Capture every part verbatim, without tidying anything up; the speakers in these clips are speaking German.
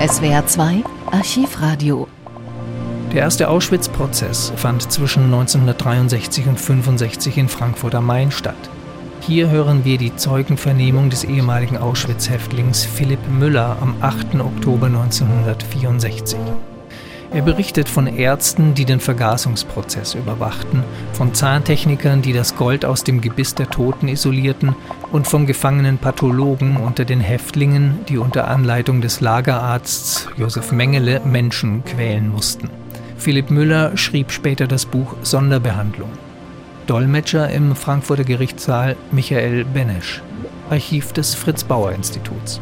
S W R zwei Archivradio. Der erste Auschwitz-Prozess fand zwischen neunzehnhundertdreiundsechzig und fünfundsechzig in Frankfurt am Main statt. Hier hören wir die Zeugenvernehmung des ehemaligen Auschwitz-Häftlings Philipp Müller am achten Oktober neunzehnhundertvierundsechzig. Er berichtet von Ärzten, die den Vergasungsprozess überwachten, von Zahntechnikern, die das Gold aus dem Gebiss der Toten isolierten und von gefangenen Pathologen unter den Häftlingen, die unter Anleitung des Lagerarzts Josef Mengele Menschen quälen mussten. Philipp Müller schrieb später das Buch Sonderbehandlung. Dolmetscher im Frankfurter Gerichtssaal Michael Benesch, Archiv des Fritz-Bauer-Instituts.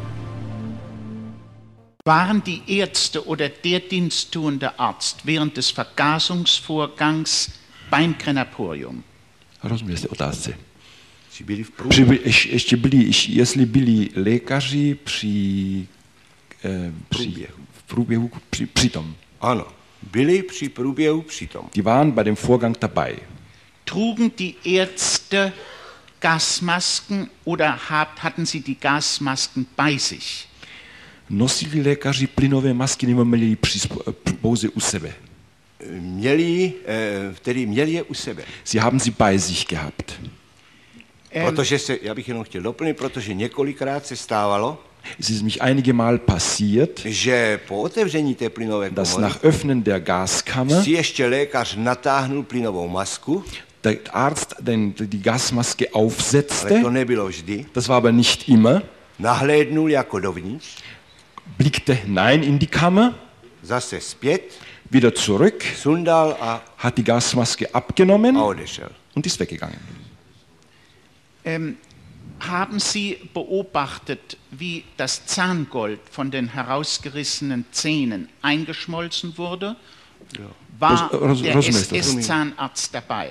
Waren die Ärzte oder der diensttuende Arzt während des Vergasungsvorgangs beim Krematorium? Rozumím té otázce. Při, ještě byli, jestli byli lékaři při, eh, při v průběhu při, přitom. Ano, byli při průběhu přitom. Die waren bei dem Vorgang dabei. Trugen die Ärzte Gasmasken oder hatten sie die Gasmasken bei sich? Nosili lékaři plynové masky nebo měli ji pouze u sebe? Měli, tedy měli je u sebe. Sie haben sie bei sich gehabt. Protože se, já bych jenom chtěl doplnit, protože několikrát se stávalo, es ist mich einige Mal passiert, že po otevření té plynové komory, dass nach Öffnen der Gaskammer si ještě lékař natáhnul plynovou masku, der Arzt den, die Gasmaske aufsetzte, ale to nebylo vždy, das war aber nicht immer, nahlédnul jako dovnitř, blickte hinein in die Kammer, zase zpět, wieder zurück, sundal a hat die Gasmaske abgenommen a odešel. und ist weggegangen. Ähm, haben Sie beobachtet, wie das Zahngold von den herausgerissenen Zähnen eingeschmolzen wurde? Ja. War Ros- der Ros- S S-Zahnarzt dabei?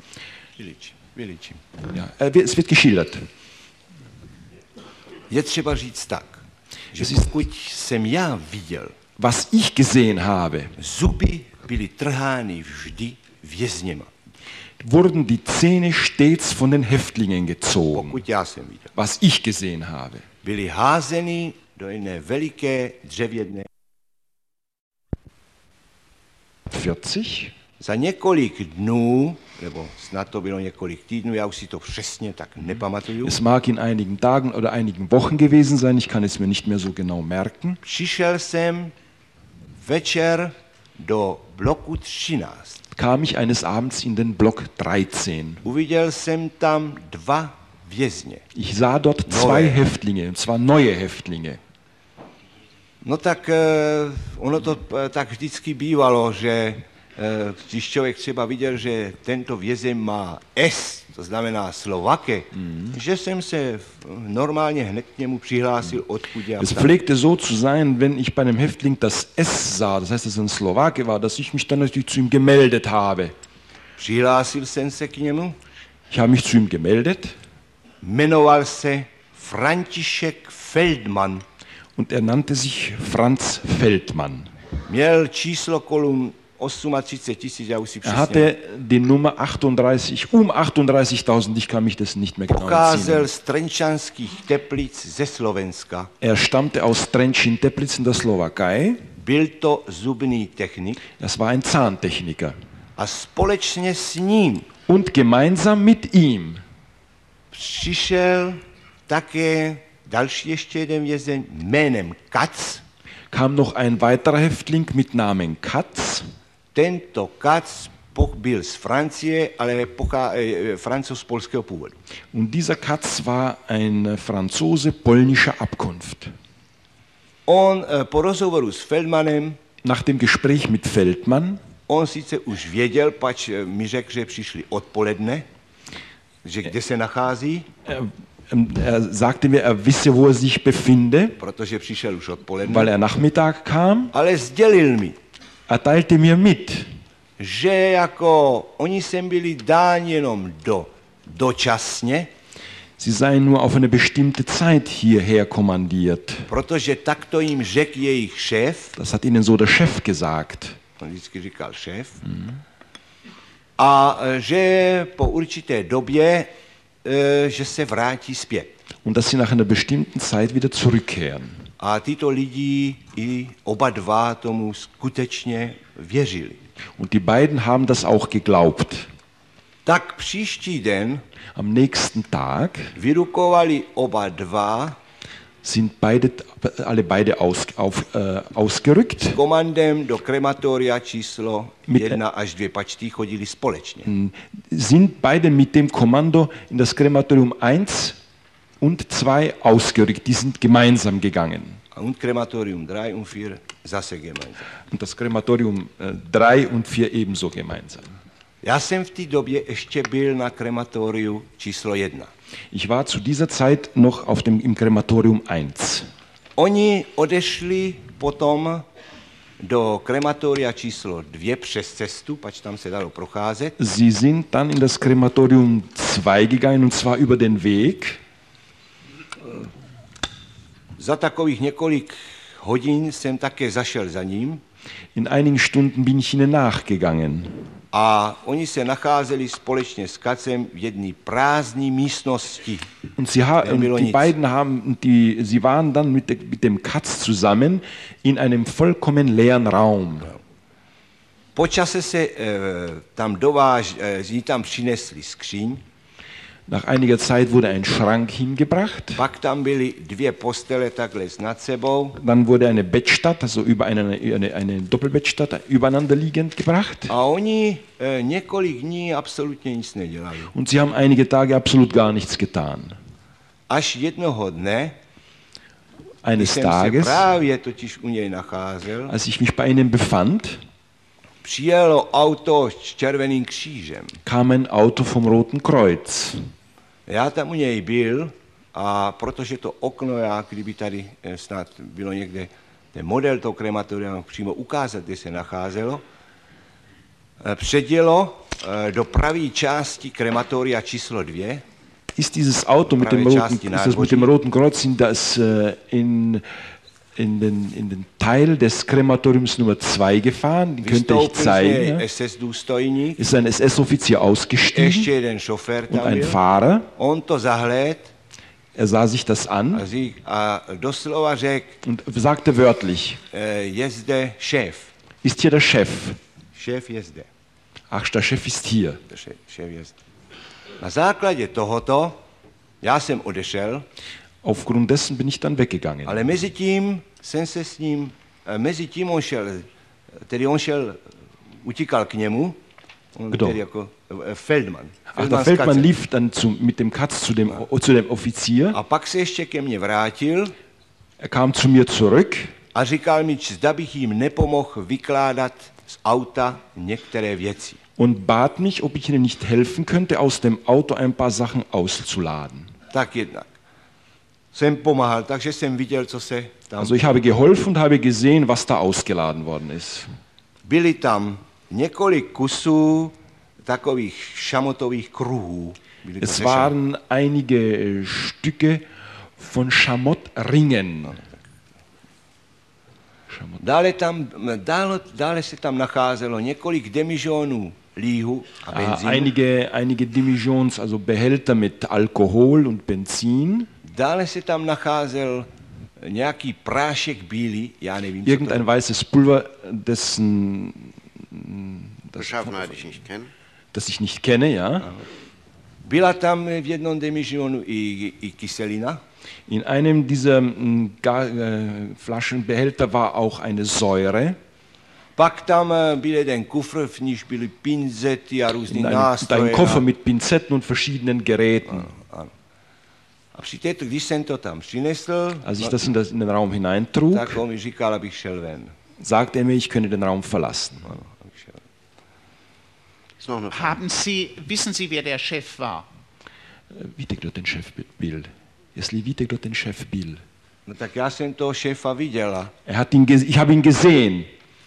Ja, es wird geschildert. Je třeba říct tak, že pokud jsem já viděl, was ich gesehen habe, zuby byly trhány vždy vězněma. Wurden die Zähne stets von den Häftlingen gezogen. Pokud já jsem viděl. Was ich gesehen habe. Byly házeny do jedné veliké dřevěné. vierzig. Za několik dnů, nebo snad to bylo několik týdnů, já už si to přesně tak nepamatuju. Es mag in einigen Tagen oder einigen Wochen gewesen sein, ich kann es mir nicht mehr so genau merken. Přišel jsem večer do bloku třináct. Kam ich eines Abends in den Block dreizehn. Uviděl jsem tam dva vězně. Ich sah dort zwei Häftlinge, und zwar neue Häftlinge. No tak ono to tak vždycky bývalo, že když člověk třeba viděl, že tento vězeň má S, to znamená Slovake, mm. že jsem se normálně hned k němu přihlásil, odkud já. Es pflegte so zu sein, wenn ich bei einem Häftling das S sah, das heißt, dass er ein Slowake war, dass ich mich dann natürlich zu ihm gemeldet habe. Přihlásil jsem se k němu. Ich habe mich zu ihm gemeldet. Jmenoval se František Feldmann. Und er nannte sich Franz Feldmann. Měl číslo kolum třicet osm tisíc, já už si Er přesně. hatte die Nummer achtunddreißig, um achtunddreißigtausend, ich kann mich das nicht mehr genau Pocházel entsinnen. z Trenčanských Teplic ze Slovenska. Er stammte aus Trenčín-Teplic in der Slowakei. Byl to zubný technik. Das war ein Zahntechniker. A společně s ním Und gemeinsam mit ihm přišel také další ještě jeden vězeň jménem Katz. kam noch ein weiterer Häftling mit Namen Katz. Tento Katz byl z Francie, ale pochá, eh, Francouz polského původu. Und dieser Katz war ein Franzose polnischer Abkunft. On eh, po rozhovoru s Feldmanem, Nach dem Gespräch mit Feldmann, on sice už věděl, pač eh, mi řekl, že přišli odpoledne, že kde se nachází, er, er sagte mir, er wisse, wo er sich befinde, protože přišel už odpoledne, weil er Nachmittag kam. ale sdělil mi, Er teilte mir mit, že jako oni sem byli dáni jenom do dočasně, sie seien nur auf eine bestimmte Zeit hierher kommandiert. protože takto jim řekl jejich šéf, Das hat ihnen so der Chef gesagt. on vždycky říkal šéf, mm. a že po určité době, že se vrátí zpět. Und dass sie nach einer bestimmten Zeit wieder zurückkehren. A tyto lidi i oba dva tomu skutečně věřili. Und die beiden haben das auch geglaubt. Tak příští den Am nächsten Tag vyrukovali oba dva sind beide, alle beide aus, auf, äh, ausgerückt. s komandem do krematoria číslo jedna až dvě, pač tí chodili společně. Sind beide mit dem Kommando in das Krematorium eins und zwei ausgerückt. Die sind gemeinsam gegangen. Und Krematorium drei und vier zase gemeinsam. Und das Krematorium drei und vier ebenso gemeinsam. Já jsem v té době ještě byl na krematoriu číslo jedna. Ich war zu dieser Zeit noch auf dem, im Krematorium eins. Oni odešli potom do krematoria číslo dvě přes cestu, pač tam se dalo procházet. Sie sind dann in das Krematorium zwei gegangen, und zwar über den Weg. Za takových několik hodin jsem také zašel za ním. In einigen Stunden bin ich ihnen nachgegangen. A oni se nacházeli společně s Kacem v jedné prázdné místnosti. Und sie ha- und die nic. beiden haben, die, sie waren dann mit, de, mit dem Katz zusammen in einem vollkommen leeren Raum. Po čase se e, tam dováž, e, sie tam přinesli skříň. Nach einiger Zeit wurde ein Schrank hingebracht. Pak tam byly dvě postele takhle nad sebou. Dann wurde eine Bettstatt, also über eine, eine, eine Doppelbettstatt übereinander liegend gebracht. A oni e, několik dní absolutně nic nedělali. Und sie haben einige Tage absolut gar nichts getan. Až jednoho dne, když Eines jsem se Tages, právě totiž u něj nacházel, als ich mich bei ihnen befand, přijelo auto s červeným křížem. kam ein Auto vom Roten Kreuz. Já tam u něj byl a protože to okno, já, kdyby tady eh, snad bylo někde ten model toho krematoria přímo ukázat, kde se nacházelo, eh, předjelo eh, do pravé části krematoria číslo dvě. Ist dieses Auto mit dem Roten, ist das mit dem Roten Kreuz in, das, äh, in, in, den, in den Teil des Krematoriums Nummer zwei gefahren? Den könnte ich zeigen. S S důstojník, Ist ein S S-Offizier ausgestiegen ještě jeden šofér und tam ein byl. Fahrer. On to zahlédl Er sah sich das an a, řík, a doslova řekl, und sagte wörtlich, eh, je zde šéf. ist hier der Chef? Šéf je zde. Ach, der Chef ist hier. Šéf, šéf je zde. Na základě tohoto já jsem odešel, Aufgrund dessen bin ich dann weggegangen. ale mezi tím jsem se s ním, eh, mezi tím on šel, tedy on šel, utíkal k němu, on Kdo? tedy jako eh, Feldman. Ach, der s Feldmann Katzem. lief dann zu, mit dem Katz zu dem, zu dem Offizier. A pak se ještě ke mně vrátil Er kam zu mir zurück a říkal mi, zda bych jim nepomohl vykládat z auta některé věci. und bat mich, ob ich ihnen nicht helfen könnte, aus dem Auto ein paar Sachen auszuladen. Tak jednak. Jsem pomáhal, takže jsem viděl, co se tam... Also ich habe geholfen und habe gesehen, was da ausgeladen worden ist. Byly tam několik kusů takových šamotových kruhů. Byly to Es ze waren einige Stücke von Schamottringen. Schamott. Dále, tam, dále, dále se tam nacházelo několik demižonů líhu a Ah, benzínu. einige, einige Demijohns, also Behälter mit Alkohol und Benzin. Dále se tam nacházel nějaký prášek bílý, já nevím, co to Irgendein je. weißes Pulver, dessen, das, Beschaffenheit ich nicht kenne. das ich nicht kenne, ja. Byla tam v jednom demižonu i, i kyselina. In einem dieser mm, Ga- äh, Flaschenbehälter war auch eine Säure. Pak tam eh, byl jeden kufr, v níž byly pinzety a různý In einem, nástroje. ein Koffer a- mit Pinzetten und verschiedenen Geräten. A při této, když jsem to tam přinesl, Als ich no, das in, das in den Raum hineintrug, tak on mi říkal, abych šel ven. sagte er mir, ich könne den Raum verlassen. Ano, abych šel. Ist noch eine Frage. Haben Sie, wissen Sie, wer der Chef war? Víte, kdo ten šéf byl? Jestli víte, kdo ten šéf byl? No tak já jsem toho šéfa viděla. Er hat ihn ge- ich habe ihn gesehen.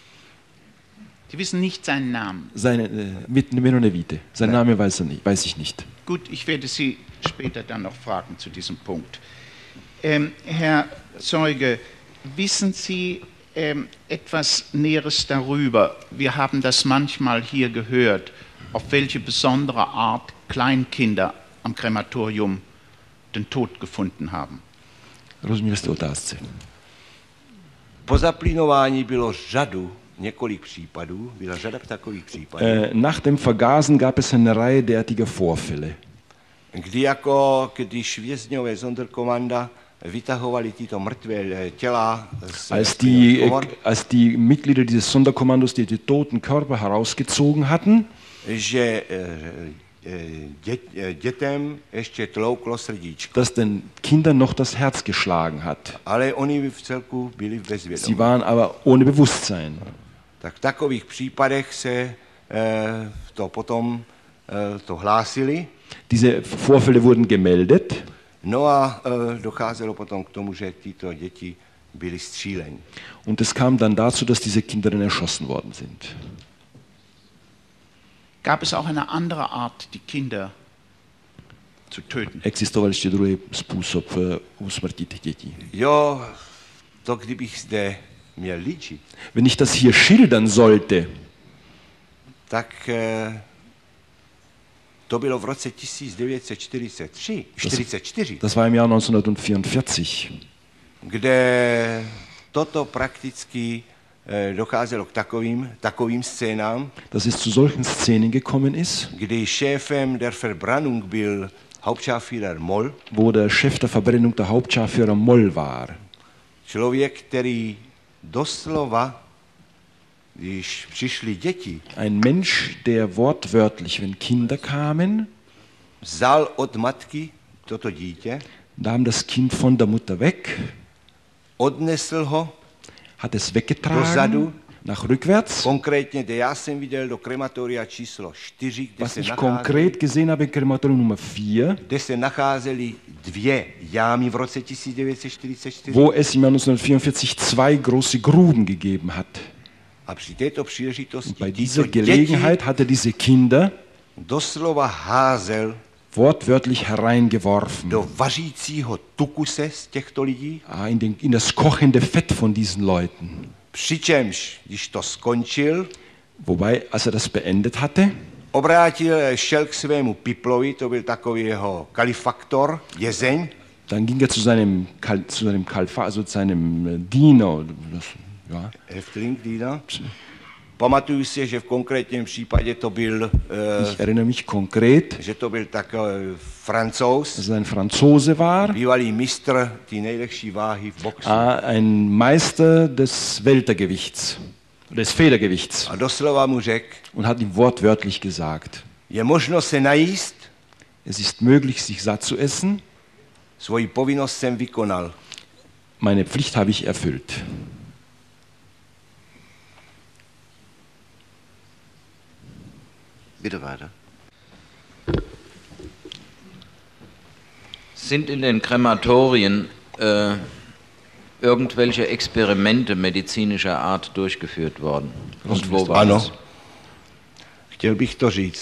Sie wissen nicht seinen Namen. Seine, äh, mit Menone Vite. Sein Name weiß, er nicht, weiß ich nicht. Gut, ich werde Sie später dann noch fragen zu diesem Punkt. Ähm, Herr Zeuge, wissen Sie ähm, etwas Näheres darüber? Wir haben das manchmal hier gehört, auf welche besondere Art Kleinkinder am Krematorium den Tod gefunden haben. Rozumím jste otázce. Po zaplynování bylo řadu, několik případů, byla řada takových případů. Äh, nach dem Vergasen gab es eine Reihe derartiger Vorfälle. Kdy jako, když vězňové Sonderkommanda vytahovali tyto mrtvé těla z als die, äh, als die Mitglieder dieses Sonderkommandos die, die toten Körper herausgezogen hatten, že dě, dětem ještě tlouklo srdíčko. dass den Kindern noch das Herz geschlagen hat. Ale oni v celku byli v bezvědomí. Sie waren aber ohne Bewusstsein. Tak v takových případech se eh, to potom eh, to hlásili. Diese Vorfälle wurden gemeldet. No a e, docházelo potom k tomu, že tyto děti byly stříleni. Und es kam dann dazu, dass diese Kinder dann erschossen worden sind. Gab es auch eine andere Art, die Kinder zu töten? Existoval ještě druhý způsob usmrtit děti. Jo, to kdybych zde měl líčit. Wenn ich das hier schildern sollte, tak e, to bylo v roce tisíc devět set čtyřicet tři, čtyřicet čtyři, das war im Jahr neunzehnhundertvierundvierzig, kde toto prakticky e, docházelo k takovým, takovým scénám, dass es zu solchen Szenen gekommen ist, kdy šéfem der Verbrennung byl Hauptscharführer Moll, wo der Chef der Verbrennung der Hauptscharführer Moll war. Člověk, který doslova, když přišli děti, ein Mensch, der wortwörtlich, wenn Kinder kamen, vzal od matky toto dítě, nahm das Kind von der Mutter weg, odnesl ho hat es weggetragen, dozadu, nach rückwärts. konkrétně, kde já jsem viděl do krematoria číslo čtyři, kde, Was se, ich nacházeli, konkret gesehen habe, Krematorium Nummer vier, kde se nacházely dvě jámy v roce tisíc devět set čtyřicet čtyři. wo es im Jahr neunzehnhundertvierundvierzig zwei große Gruben gegeben hat. A při této Und příležitosti bei tyto dieser děti Gelegenheit hat er diese Kinder doslova házel wortwörtlich hereingeworfen do vařícího tukuse z těchto lidí, ah, in, den, in das kochende Fett von diesen Leuten. přičemž, když to skončil, Wobei, als er das beendet hatte, obrátil, šel k svému piplovi, to byl takový jeho kalifaktor, jezeň, dann ging er zu seinem, Kal, zu seinem Kalfa, also zu seinem äh, Diener. Das, ja. Häftling, Diener. Pamatuju si, že v konkrétním případě to byl, Ich erinnere mich konkret, že to byl takový Francouz, dass er ein Franzose war, bývalý mistr té nejlepší váhy v boxu. ah, ein Meister des Weltergewichts, des Federgewichts, A doslova mu řekl, und hat ihm wortwörtlich gesagt, je možno se najíst, es ist möglich, sich satt zu essen, svoji povinnost jsem vykonal. meine Pflicht habe ich erfüllt. Bitte weiter. Sind in den Krematorien äh, irgendwelche Experimente medizinischer Art durchgeführt worden? Und wo war Ano, das? chtěl bych to říct.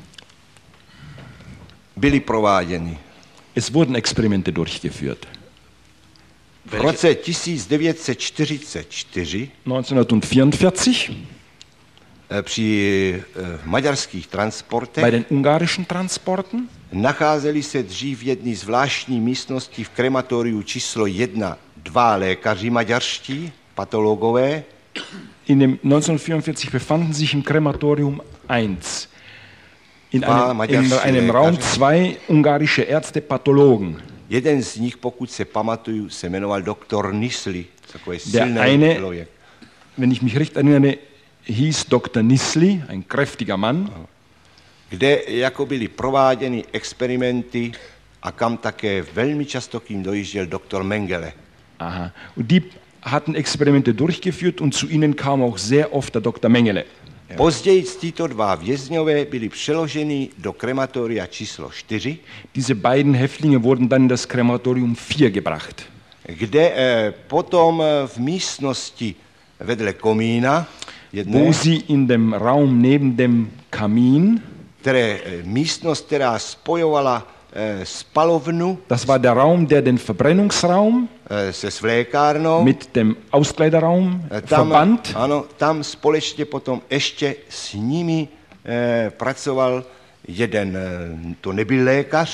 Byly prováděny. Es wurden Experimente durchgeführt. V roce tisíc devět set čtyřicet čtyři neunzehnhundertvierundvierzig eh, při eh, maďarských bei transportech den ungarischen Transporten nacházeli se dřív v jedné zvláštní místnosti v krematoriu číslo jedna dva lékaři maďarští, patologové, in dem neunzehnhundertvierundvierzig befanden sich im Krematorium eins. In Dva einem, in maďarští einem Raum lékaři. zwei ungarische Ärzte, Pathologen. Jeden z nich, pokud se pamatuju, se jmenoval doktor Nisli, takový Der silný eine, člověk. wenn ich mich recht erinnere, hieß Doktor Nisli, ein kräftiger Mann, Kde jako byly prováděny experimenty a kam také velmi často k ním dojížděl doktor Mengele. aha, und die hatten Experimente durchgeführt und zu ihnen kam auch sehr oft der Doktor Mengele. Později tyto dva vězňové byli přeloženi do krematoria číslo čtyři, Diese beiden Häftlinge wurden dann in das Krematorium vier gebracht, kde eh, potom eh, v místnosti vedle komína, jedné, wo sie in dem Raum neben dem Kamin, které, eh, místnost, která spojovala eh, spalovnu das war der Raum, der den Verbrennungsraum eh, se svlékárnou, mit dem Auskleiderraum eh, tam, verband. ano, tam společně potom ještě s nimi eh, pracoval jeden, eh, to nebyl lékař,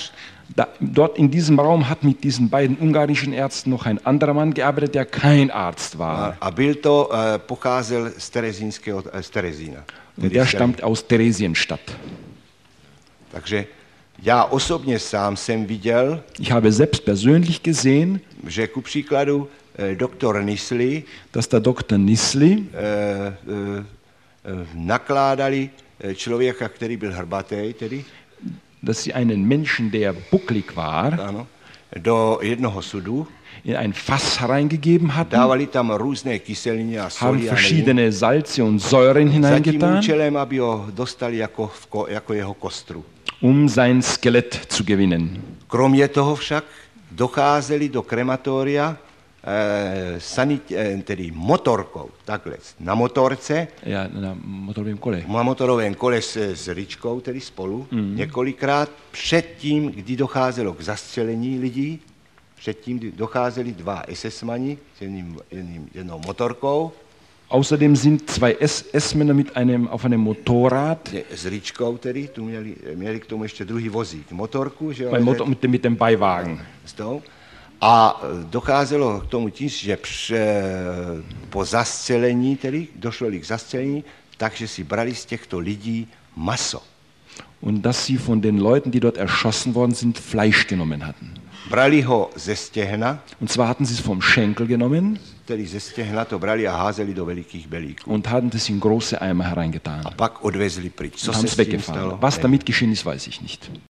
Da, dort in diesem Raum hat mit diesen beiden ungarischen Ärzten noch ein anderer Mann gearbeitet, der kein Arzt war. A, a byl to, uh, pocházel z Terezínského, z Terezína. Und der stammt aus Theresienstadt. Takže já osobně sám jsem viděl, ich habe selbst persönlich gesehen, že ku příkladu eh, doktor Nisli, dass der Doktor Nisli eh, eh, nakládali člověka, který byl hrbatý, tedy, dass sie einen Menschen, der bucklig war, ano, do jednoho sudu, in ein Fass hereingegeben hatten, dávali tam různé kyseliny a haben soli a verschiedene Salze und Säuren za tím hineingetan, účelem, aby ho dostali jako, v ko, jako jeho kostru. um sein Skelett zu gewinnen. Kromě toho však docházeli do krematoria eh, sanit, eh, tedy motorkou, takhle, na motorce, Ja, na motorovém kole. na motorovém kole s, s Ričkou, tedy spolu, mm. několikrát předtím, kdy docházelo k zastřelení lidí, předtím, kdy docházeli dva esesmani s jedním, jedním, jednou motorkou. Außerdem sind zwei S S-Männer mit einem, auf einem Motorrad, S Ričkou tedy, tu měli, měli k tomu ještě druhý vozík, motorku, že jo, beim Motor, mit, dem, mit dem Beiwagen. s tou. A docházelo k tomu tím, že pře, po zastřelení, tedy došlo k zastřelení, takže si brali z těchto lidí maso. Und dass sie von den Leuten, die dort erschossen worden sind, Fleisch genommen hatten. Brali ho ze stěhna, Und zwar hatten sie es vom Schenkel genommen tedy ze stěhna to brali a házeli do velikých belíků. und hatten es in große Eimer hereingetan. A pak odvezli pryč. Co Und se haben s es tím weggefahren. stalo? Was damit geschehen ist, weiß ich nicht.